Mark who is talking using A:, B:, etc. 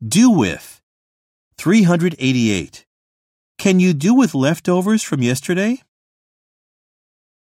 A: Do with. 388. Can you do with leftovers from yesterday?